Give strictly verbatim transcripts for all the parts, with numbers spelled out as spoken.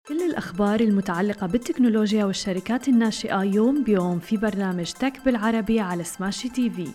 كل الأخبار المتعلقة بالتكنولوجيا والشركات الناشئة يوم بيوم في برنامج تك بالعربي على سماشي تي في.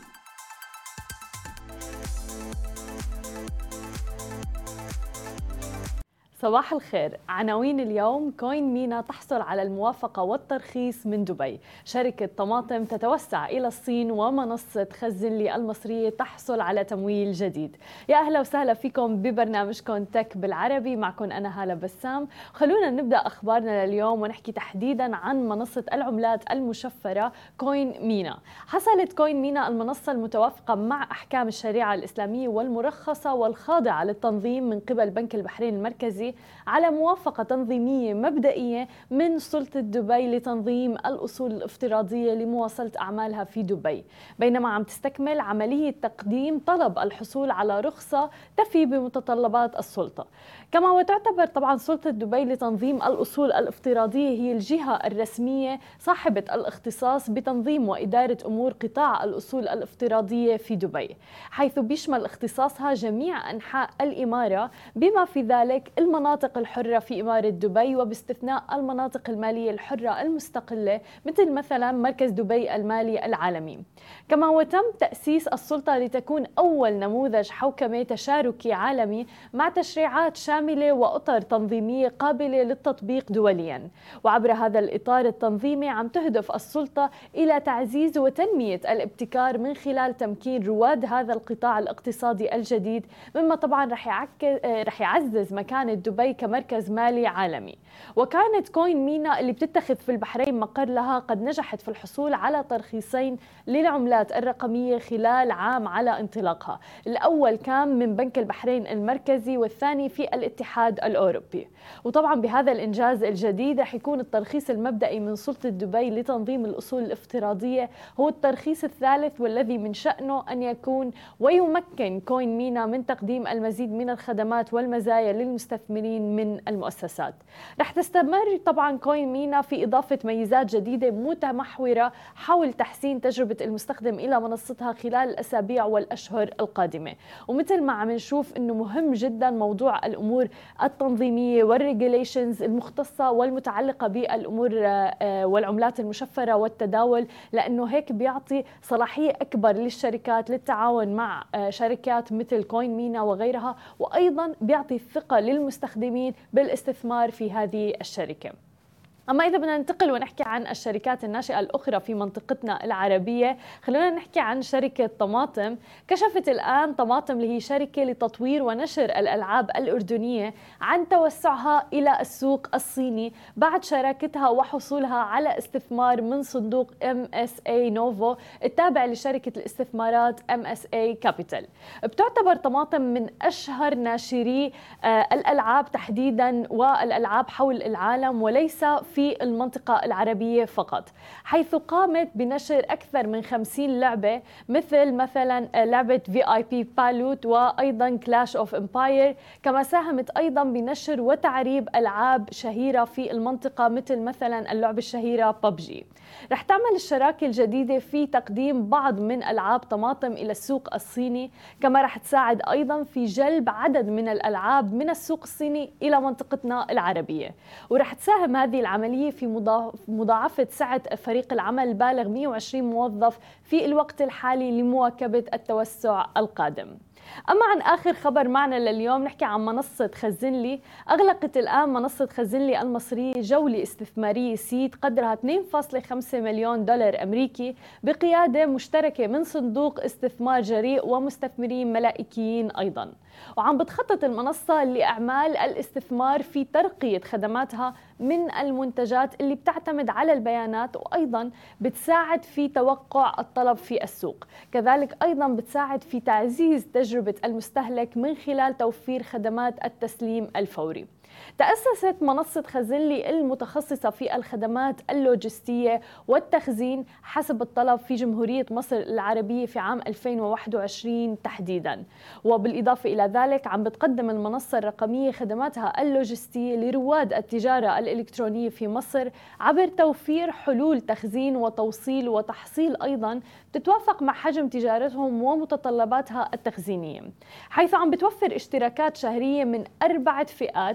صباح الخير. عناوين اليوم: كوين مينا تحصل على الموافقة والترخيص من دبي، شركة طماطم تتوسع إلى الصين، ومنصة خزنلي المصرية تحصل على تمويل جديد. يا أهلا وسهلا فيكم ببرنامجكم تك بالعربي، معكم أنا هالة بسام. خلونا نبدأ أخبارنا لليوم ونحكي تحديدا عن منصة العملات المشفرة كوين مينا. حصلت كوين مينا المنصة المتوافقة مع أحكام الشريعة الإسلامية والمرخصة والخاضعة للتنظيم من قبل بنك البحرين المركزي على موافقة تنظيمية مبدئية من سلطة دبي لتنظيم الأصول الافتراضية لمواصلة أعمالها في دبي، بينما عم تستكمل عملية تقديم طلب الحصول على رخصة تفي بمتطلبات السلطة. كما وتعتبر طبعا سلطة دبي لتنظيم الأصول الافتراضية هي الجهة الرسمية صاحبة الاختصاص بتنظيم وإدارة أمور قطاع الأصول الافتراضية في دبي، حيث بيشمل اختصاصها جميع أنحاء الإمارة بما في ذلك المناطق الحرة في إمارة دبي، وباستثناء المناطق المالية الحرة المستقلة مثل مثلا مركز دبي المالي العالمي. كما وتم تأسيس السلطة لتكون أول نموذج حوكمة تشاركي عالمي مع تشريعات شاملة وأطر تنظيمية قابلة للتطبيق دوليا. وعبر هذا الإطار التنظيمي عم تهدف السلطة إلى تعزيز وتنمية الابتكار من خلال تمكين رواد هذا القطاع الاقتصادي الجديد، مما طبعا رح رح يعزز مكانة دبي كمركز مالي عالمي. وكانت كوين مينا اللي بتتخذ في البحرين مقر لها قد نجحت في الحصول على ترخيصين للعملات الرقمية خلال عام على انطلاقها، الأول كان من بنك البحرين المركزي والثاني في الاتحاد الأوروبي. وطبعا بهذا الإنجاز الجديد رح يكون الترخيص المبدئي من سلطة دبي لتنظيم الأصول الافتراضية هو الترخيص الثالث، والذي من شأنه أن يكون ويمكن كوين مينا من تقديم المزيد من الخدمات والمزايا للمستثمرين من المؤسسات. رح تستمر طبعا كوين مينا في إضافة ميزات جديدة متمحورة حول تحسين تجربة المستخدم إلى منصتها خلال الأسابيع والأشهر القادمة. ومثل ما عم نشوف إنه مهم جدا موضوع الأمور التنظيمية والريجوليشنز المختصة والمتعلقة بالأمور والعملات المشفرة والتداول، لأنه هيك بيعطي صلاحية أكبر للشركات للتعاون مع شركات مثل كوين مينا وغيرها، وأيضا بيعطي الثقة للمستخدمين بالاستثمار في هذه الشركة. أما إذا بدنا ننتقل ونحكي عن الشركات الناشئة الأخرى في منطقتنا العربية، خلونا نحكي عن شركة طماطم. كشفت الآن طماطم اللي هي شركة لتطوير ونشر الألعاب الأردنية عن توسعها إلى السوق الصيني بعد شراكتها وحصولها على استثمار من صندوق إم إس إيه نوفو التابع لشركة الاستثمارات إم إس إيه كابيتال. بتعتبر طماطم من أشهر ناشري الألعاب تحديدا والألعاب حول العالم وليس في المنطقة العربية فقط، حيث قامت بنشر أكثر من خمسين لعبة مثل مثلا لعبة في آي بي بالوت وأيضا كلاش أوف إمباير. كما ساهمت أيضا بنشر وتعريب ألعاب شهيرة في المنطقة مثل مثلا اللعبة الشهيرة ببجي. رح تعمل الشراكة الجديدة في تقديم بعض من ألعاب طماطم إلى السوق الصيني، كما رح تساعد أيضا في جلب عدد من الألعاب من السوق الصيني إلى منطقتنا العربية. ورح تساهم هذه العملية في مضاعفة سعة فريق العمل البالغ مئة وعشرين موظف في الوقت الحالي لمواكبة التوسع القادم. أما عن آخر خبر معنا لليوم، نحكي عن منصة خزنلي. أغلقت الآن منصة خزنلي المصرية جولة استثمارية سيد قدرها اثنين فاصلة خمسة مليون دولار أمريكي بقيادة مشتركة من صندوق استثمار جريء ومستثمرين ملائكيين أيضا. وعم بتخطط المنصة لأعمال الاستثمار في ترقية خدماتها من المنتجات اللي بتعتمد على البيانات، وأيضا بتساعد في توقع الطلب في السوق، كذلك أيضا بتساعد في تعزيز تجربة المستهلك من خلال توفير خدمات التسليم الفوري. تأسست منصة خزنلي المتخصصة في الخدمات اللوجستية والتخزين حسب الطلب في جمهورية مصر العربية في عام ألفين وواحد وعشرين تحديدا. وبالإضافة إلى ذلك عم بتقدم المنصة الرقمية خدماتها اللوجستية لرواد التجارة الإلكترونية في مصر عبر توفير حلول تخزين وتوصيل وتحصيل أيضا تتوافق مع حجم تجارتهم ومتطلباتها التخزينية، حيث عم بتوفر اشتراكات شهرية من أربعة فئات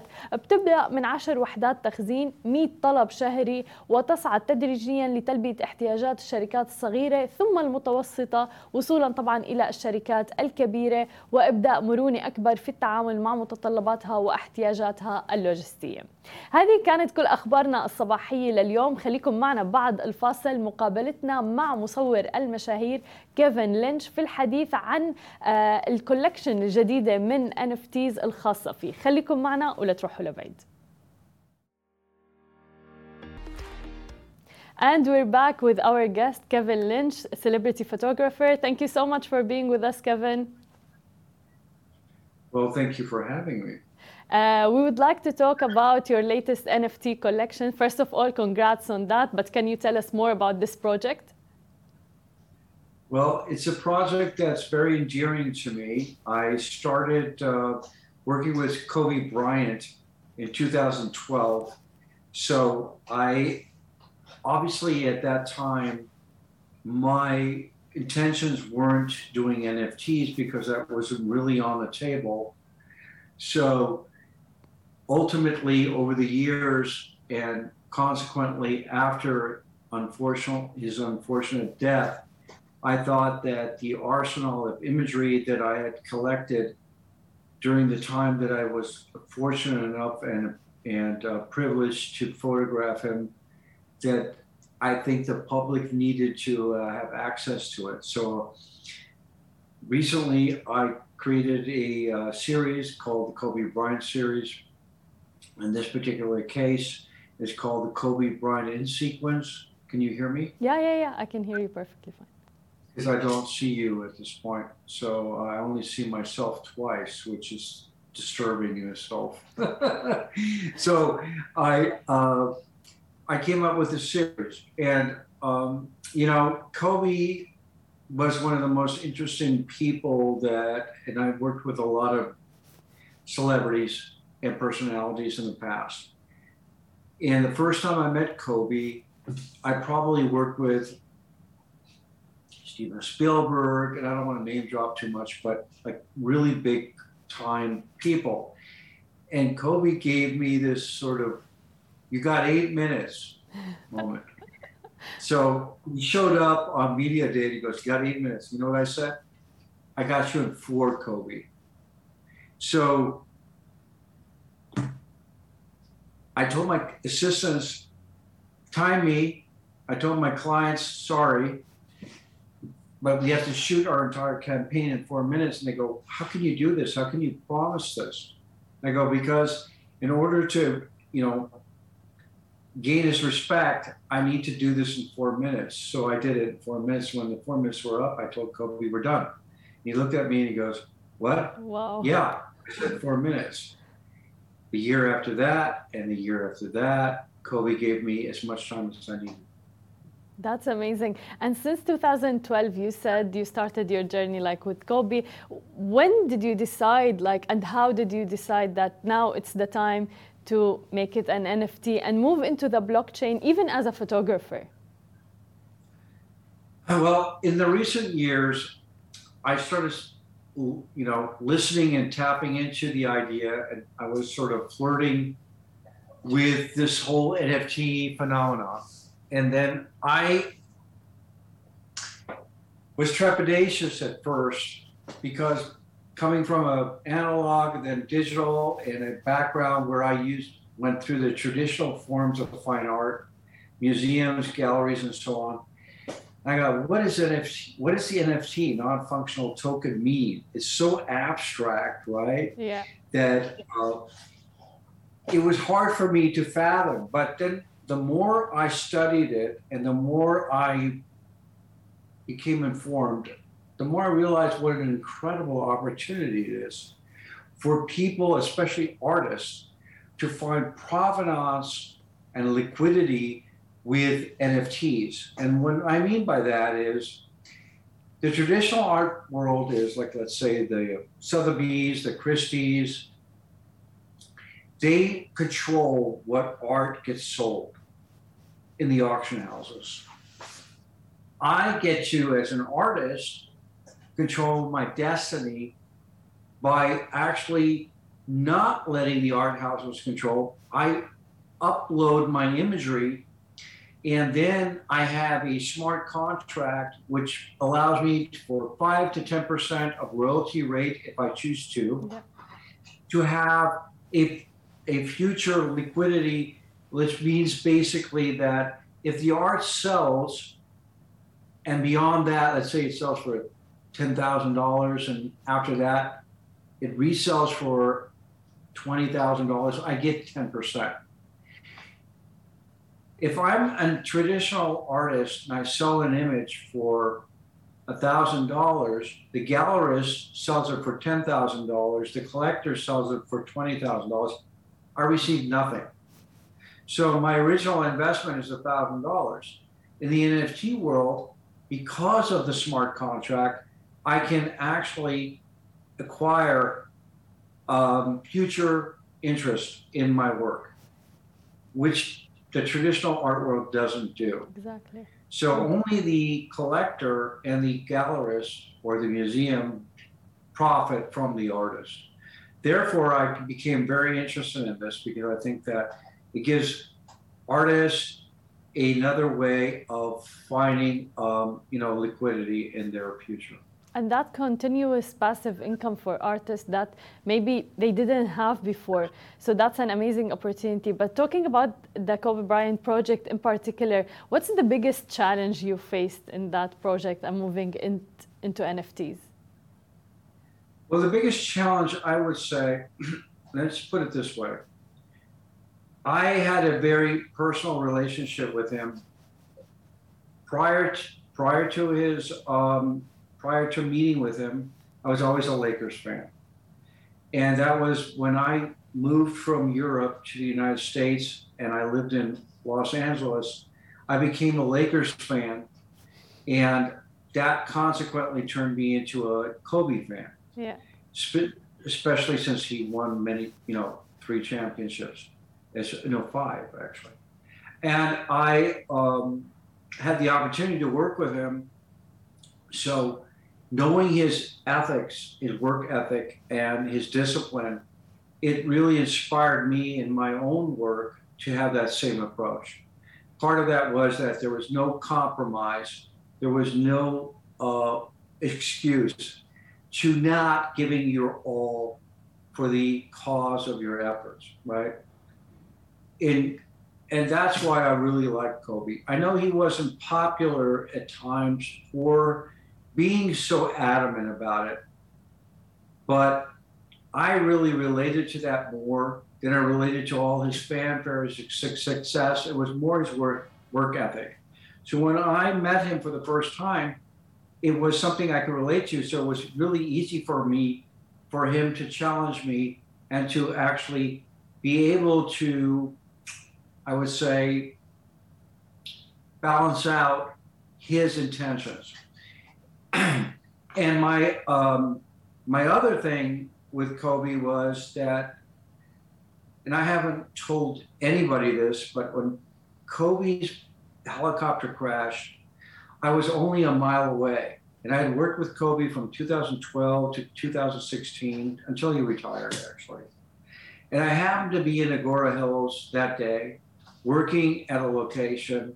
وبتبدأ من عشر وحدات تخزين، مئة طلب شهري، وتصعد تدريجيا لتلبية احتياجات الشركات الصغيرة ثم المتوسطة، وصولا طبعا إلى الشركات الكبيرة، وإبداء مرونة أكبر في التعامل مع متطلباتها واحتياجاتها اللوجستية. هذه كانت كل أخبارنا الصباحية لليوم. خليكم معنا بعد الفاصل، مقابلتنا مع مصور المشاهير كيفن لينش في الحديث عن الكولكشن الجديدة من إن إف تيز الخاصة فيه. خليكم معنا ولا تروحوا لبعيد. And we're back with our guest, Kevin Lynch, a celebrity photographer. Thank you so much for being with us, Kevin. Well, thank you for having me. Uh, we would like to talk about your latest N F T collection. First of all, congrats on that, but can you tell us more about this project? Well, it's a project that's very endearing to me. I started uh, working with Kobe Bryant in two thousand twelve. So I, obviously at that time, my intentions weren't doing N F Ts because that wasn't really on the table. So ultimately, over the years and consequently after unfortunate, his unfortunate death, I thought that the arsenal of imagery that I had collected during the time that I was fortunate enough and, and uh, privileged to photograph him, that I think the public needed to uh, have access to it. So recently I created a uh, series called the Kobe Bryant series. In this particular case, it's called the Kobe Bryant in sequence. Can you hear me? Yeah, yeah, yeah. I can hear you perfectly fine. Because I don't see you at this point. So I only see myself twice, which is disturbing in itself. So I uh, I came up with a series. And, um, you know, Kobe was one of the most interesting people that, and I've worked with a lot of celebrities and personalities in the past. And the first time I met Kobe, I probably worked with Steven Spielberg, and I don't want to name drop too much, but like really big time people. And Kobe gave me this sort of, you got eight minutes moment. So he showed up on media day and he goes, you got eight minutes. You know what I said? I got you in four, Kobe. So I told my assistants, time me. I told my clients, sorry, but we have to shoot our entire campaign in four minutes. And they go, how can you do this? How can you promise this? And I go, because in order to, you know, gain his respect, I need to do this in four minutes. So I did it in four minutes. When the four minutes were up, I told Kobe, we're done. He looked at me and he goes, what? Wow. Yeah, I said four minutes. The year after that, and the year after that, Kobe gave me as much time as I needed. That's amazing. And since two thousand twelve, you said you started your journey like with Kobe. When did you decide, like, and how did you decide that now it's the time to make it an N F T and move into the blockchain, even as a photographer? Well, in the recent years, I started, you know, listening and tapping into the idea, and I was sort of flirting with this whole N F T phenomenon. And then I was trepidatious at first because coming from an analog and then digital and a background where I used went through the traditional forms of fine art, museums, galleries, and so on. I go, what is N F T? What does the N F T, non-functional token, mean? It's so abstract, right? Yeah. That uh, it was hard for me to fathom. But then the more I studied it and the more I became informed, the more I realized what an incredible opportunity it is for people, especially artists, to find provenance and liquidity with N F Ts. And what I mean by that is the traditional art world is like, let's say the Sotheby's, the Christie's, they control what art gets sold in the auction houses. I get to, as an artist, control my destiny by actually not letting the art houses control. I upload my imagery, and then I have a smart contract which allows me for five to ten percent of royalty rate if I choose to, yeah. to have a, a future liquidity, which means basically that if the art sells, and beyond that, let's say it sells for ten thousand dollars, and after that, it resells for twenty thousand dollars, I get ten percent. If I'm a traditional artist and I sell an image for one thousand dollars, the gallerist sells it for ten thousand dollars, the collector sells it for twenty thousand dollars, I receive nothing. So my original investment is one thousand dollars. In the N F T world, because of the smart contract, I can actually acquire um, future interest in my work, which the traditional art world doesn't do. Exactly. So only the collector and the gallerist or the museum profit from the artist. Therefore, I became very interested in this because I think that it gives artists another way of finding, um, you know, liquidity in their future. And that continuous passive income for artists that maybe they didn't have before. So that's an amazing opportunity. But talking about the Kobe Bryant project in particular, what's the biggest challenge you faced in that project and moving in, into N F Ts? Well, the biggest challenge, I would say, let's put it this way. I had a very personal relationship with him prior to, prior to his um, prior to meeting with him. I was always a Lakers fan, and that was when I moved from Europe to the United States and I lived in Los Angeles. I became a Lakers fan, and that consequently turned me into a Kobe fan. Yeah, especially since he won many, you know, three championships. It's, you know, five actually. And I um, had the opportunity to work with him. So knowing his ethics, his work ethic, and his discipline, it really inspired me in my own work to have that same approach. Part of that was that there was no compromise. There was no uh, excuse to not giving your all for the cause of your efforts, right? In, and that's why I really like Kobe. I know he wasn't popular at times for being so adamant about it, but I really related to that more than I related to all his fanfare, his success. It was more his work, work ethic. So when I met him for the first time, it was something I could relate to. So it was really easy for me, for him to challenge me and to actually be able to, I would say, balance out his intentions. And my um, my other thing with Kobe was that, and I haven't told anybody this, but when Kobe's helicopter crashed, I was only a mile away. And I had worked with Kobe from two thousand twelve to two thousand sixteen until he retired, actually. And I happened to be in Agora Hills that day, working at a location.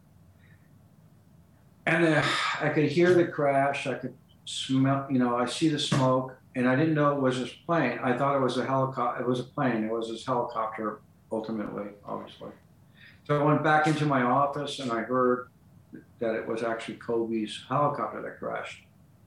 And uh, I could hear the crash. I could smell, you know, I see the smoke, and I didn't know it was his plane. I thought it was a helicopter. It was a plane. It was his helicopter, ultimately, obviously. So I went back into my office, and I heard that it was actually Kobe's helicopter that crashed.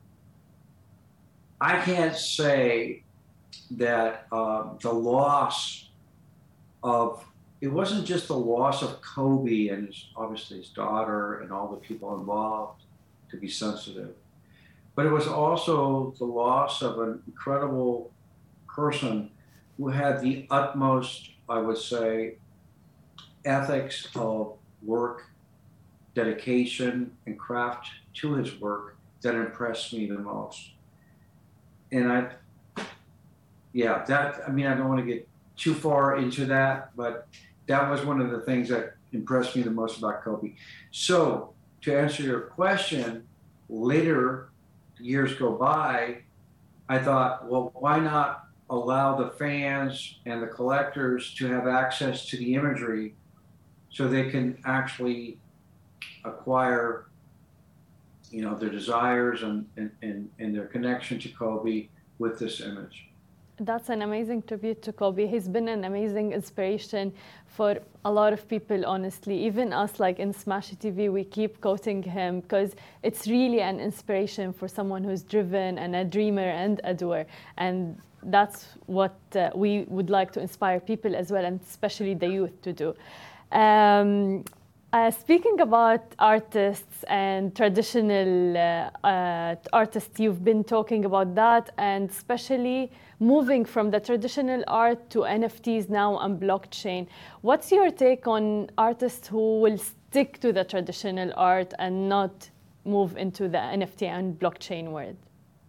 I can't say that um, the loss of, it wasn't just the loss of Kobe and his, obviously his daughter and all the people involved, to be sensitive, but it was also the loss of an incredible person who had the utmost, I would say, ethics of work, dedication, and craft to his work that impressed me the most. And I, yeah, that, I mean, I don't want to get too far into that, but that was one of the things that impressed me the most about Kobe. So to answer your question, later, years go by, I thought, well, why not allow the fans and the collectors to have access to the imagery so they can actually acquire, you know, their desires and, and, and, and their connection to Kobe with this image. That's an amazing tribute to Kobe. He's been an amazing inspiration for a lot of people, honestly. Even us, like in Smash T V, we keep quoting him because it's really an inspiration for someone who's driven and a dreamer and a doer. And that's what uh, we would like to inspire people as well, and especially the youth to do. Um, Uh, speaking about artists and traditional uh, uh, artists, you've been talking about that, and especially moving from the traditional art to N F Ts now and blockchain. What's your take on artists who will stick to the traditional art and not move into the N F T and blockchain world?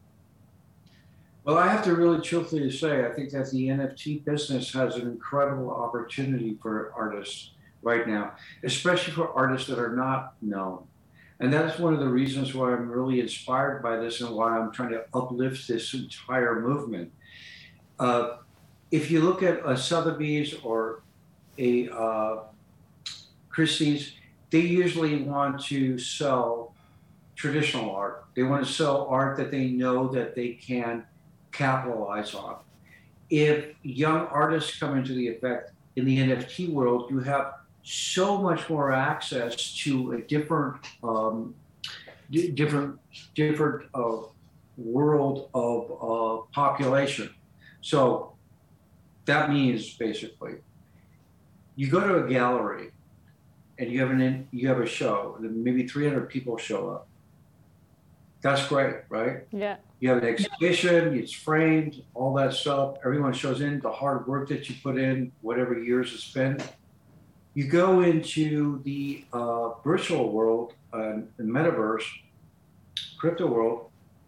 Well, I have to really truthfully say, I think that the N F T business has an incredible opportunity for artists right now, especially for artists that are not known. And that's one of the reasons why I'm really inspired by this and why I'm trying to uplift this entire movement. Uh, if you look at a Sotheby's or a uh, Christie's, they usually want to sell traditional art. They want to sell art that they know that they can capitalize on. If young artists come into the effect in the N F T world, you have so much more access to a different, um, d- different, different uh, world of uh, population. So that means basically, you go to a gallery, and you have an in, you have a show, and maybe three hundred people show up. That's great, right? Yeah. You have an exhibition, it's framed, all that stuff. Everyone shows in the hard work that you put in, whatever years it's been. You go into the uh, virtual world, uh, the metaverse, crypto world,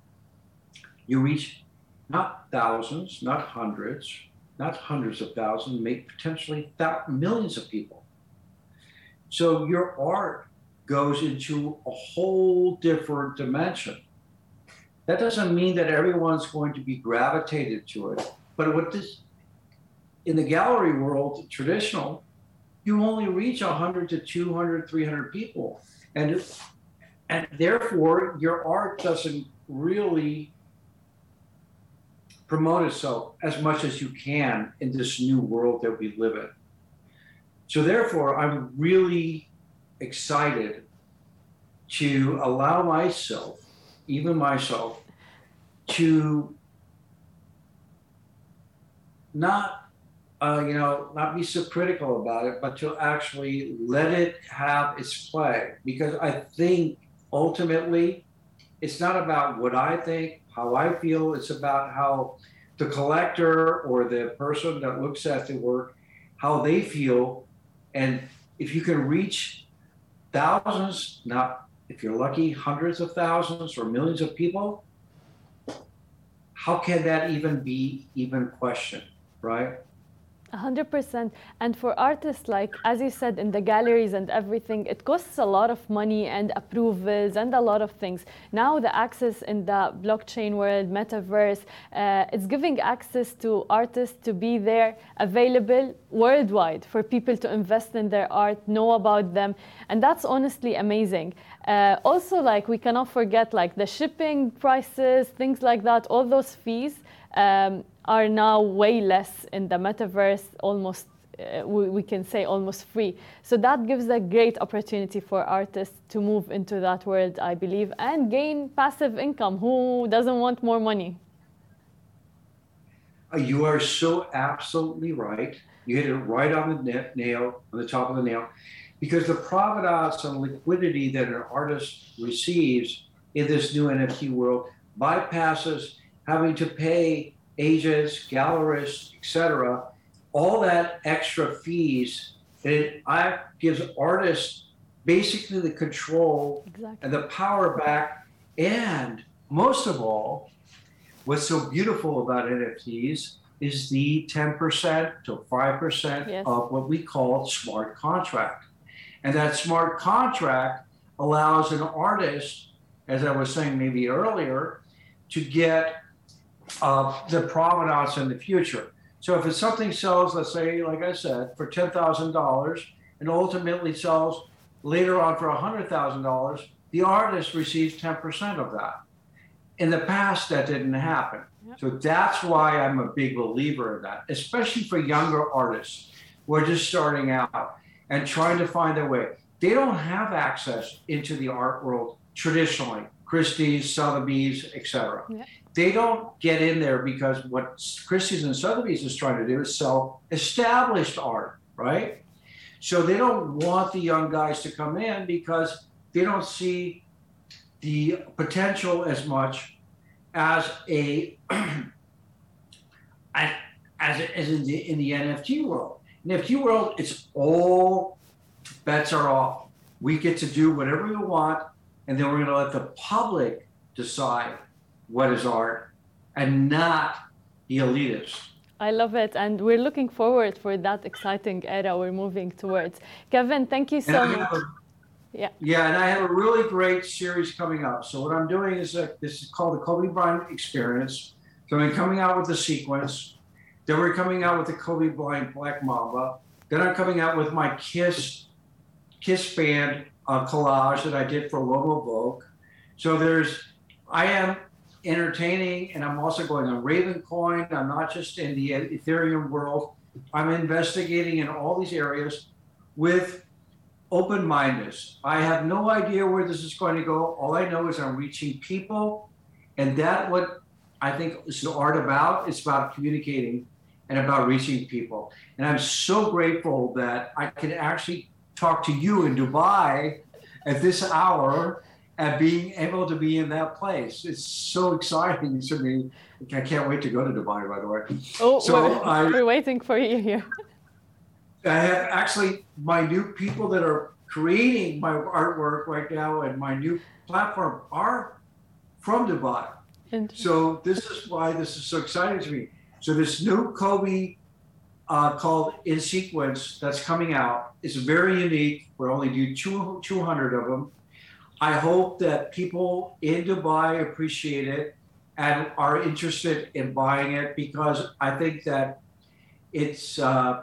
you reach not thousands, not hundreds, not hundreds of thousands, maybe potentially th- millions of people. So your art goes into a whole different dimension. That doesn't mean that everyone's going to be gravitated to it, but what this, in the gallery world, traditional, you only reach one hundred to two hundred, three hundred people. And, and therefore, your art doesn't really promote itself as much as you can in this new world that we live in. So therefore, I'm really excited to allow myself, even myself, to not Uh, you know, not be so critical about it, but to actually let it have its play. Because I think ultimately, it's not about what I think, how I feel, it's about how the collector or the person that looks at the work, how they feel. And if you can reach thousands, not, if you're lucky, hundreds of thousands or millions of people, how can that even be even questioned, right? one hundred percent. And for artists, like, as you said, in the galleries and everything, it costs a lot of money and approvals and a lot of things. Now the access in the blockchain world, metaverse, uh, it's giving access to artists to be there, available worldwide for people to invest in their art, know about them. And that's honestly amazing. Uh, also, like, we cannot forget, like, the shipping prices, things like that, all those fees um, are now way less in the metaverse, almost, uh, we, we can say almost free. So that gives a great opportunity for artists to move into that world, I believe, and gain passive income. Who doesn't want more money? You are so absolutely right. You hit it right on the nail, on the top of the nail, because the provenance and liquidity that an artist receives in this new N F T world bypasses having to pay agents, gallerists, et cetera, all that extra fees, it gives artists basically the control exactly. and the power back. And most of all, what's so beautiful about N F Ts is the ten percent to five percent yes. of what we call smart contract. And that smart contract allows an artist, as I was saying maybe earlier, to get uh, the provenance in the future. So if it's something sells, let's say, like I said, for ten thousand dollars and ultimately sells later on for one hundred thousand dollars, the artist receives ten percent of that. In the past, that didn't happen. Yep. So that's why I'm a big believer in that, especially for younger artists who are just starting out and trying to find their way. They don't have access into the art world traditionally, Christie's, Sotheby's, et cetera. Yep. They don't get in there because what Christie's and Sotheby's is trying to do is sell established art, right? So they don't want the young guys to come in because they don't see the potential as much as a as, as in the in the N F T world. In the N F T world, it's all bets are off. We get to do whatever we want, and then we're going to let the public decide what is art and not the elitists. I love it, and we're looking forward for that exciting era we're moving towards. Kevin, thank you so much. A, yeah. Yeah, and I have a really great series coming up. So what I'm doing is a, this is called the Kobe Bryant Experience. So I'm coming out with the sequence. Then we're coming out with the Kobe Bryant Black Mamba. Then I'm coming out with my Kiss Kiss band uh, collage that I did for Logo Vogue. So there's, I am entertaining, and I'm also going on Ravencoin. I'm not just in the Ethereum world. I'm investigating in all these areas with open-mindedness. I have no idea where this is going to go. All I know is I'm reaching people, and that's what I think is the art about. It's about communicating and about reaching people. And I'm so grateful that I can actually talk to you in Dubai at this hour and being able to be in that place. It's so exciting to me. I can't wait to go to Dubai, by the way. Oh, so we're, I, we're waiting for you here. I have actually my new people that are creating my artwork right now, and my new platform are from Dubai. So this is why this is so exciting to me. So this new Kobe uh, called In Sequence that's coming out is very unique. We're only do two, two hundred of them. I hope that people in Dubai appreciate it and are interested in buying it, because I think that it's, uh,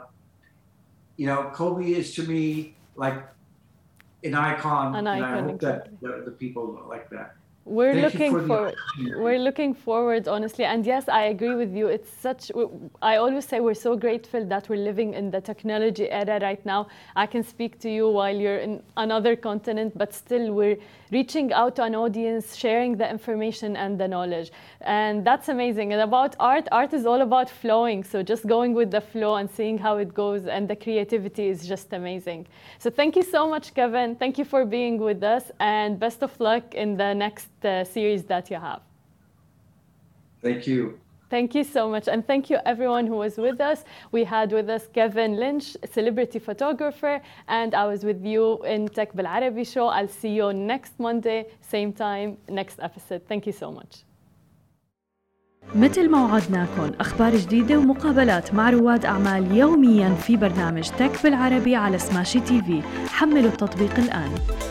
you know, Kobe is to me like an icon, an and icon, I hope exactly. that the, the people like that. We're Thank looking for forward. We're looking forward, honestly. And yes, I agree with you. It's such, I always say we're so grateful that we're living in the technology era right now. I can speak to you while you're in another continent, but still we're reaching out to an audience, sharing the information and the knowledge. And that's amazing. And about art, art is all about flowing. So just going with the flow and seeing how it goes, and the creativity is just amazing. So thank you so much, Kevin. Thank you for being with us, and best of luck in the next uh, series that you have. Thank you. Thank you so much. And thank you everyone who was with us. We had with us Kevin Lynch, a celebrity photographer, and I was with you in Tech بالعربي show. I'll see you next Monday, same time, next episode. Thank you so much. مثل ما وعدناكم أخبار جديدة ومقابلات مع رواد أعمال يومياً في برنامج تك بالعربي على سماشي تي في. حملوا التطبيق الآن.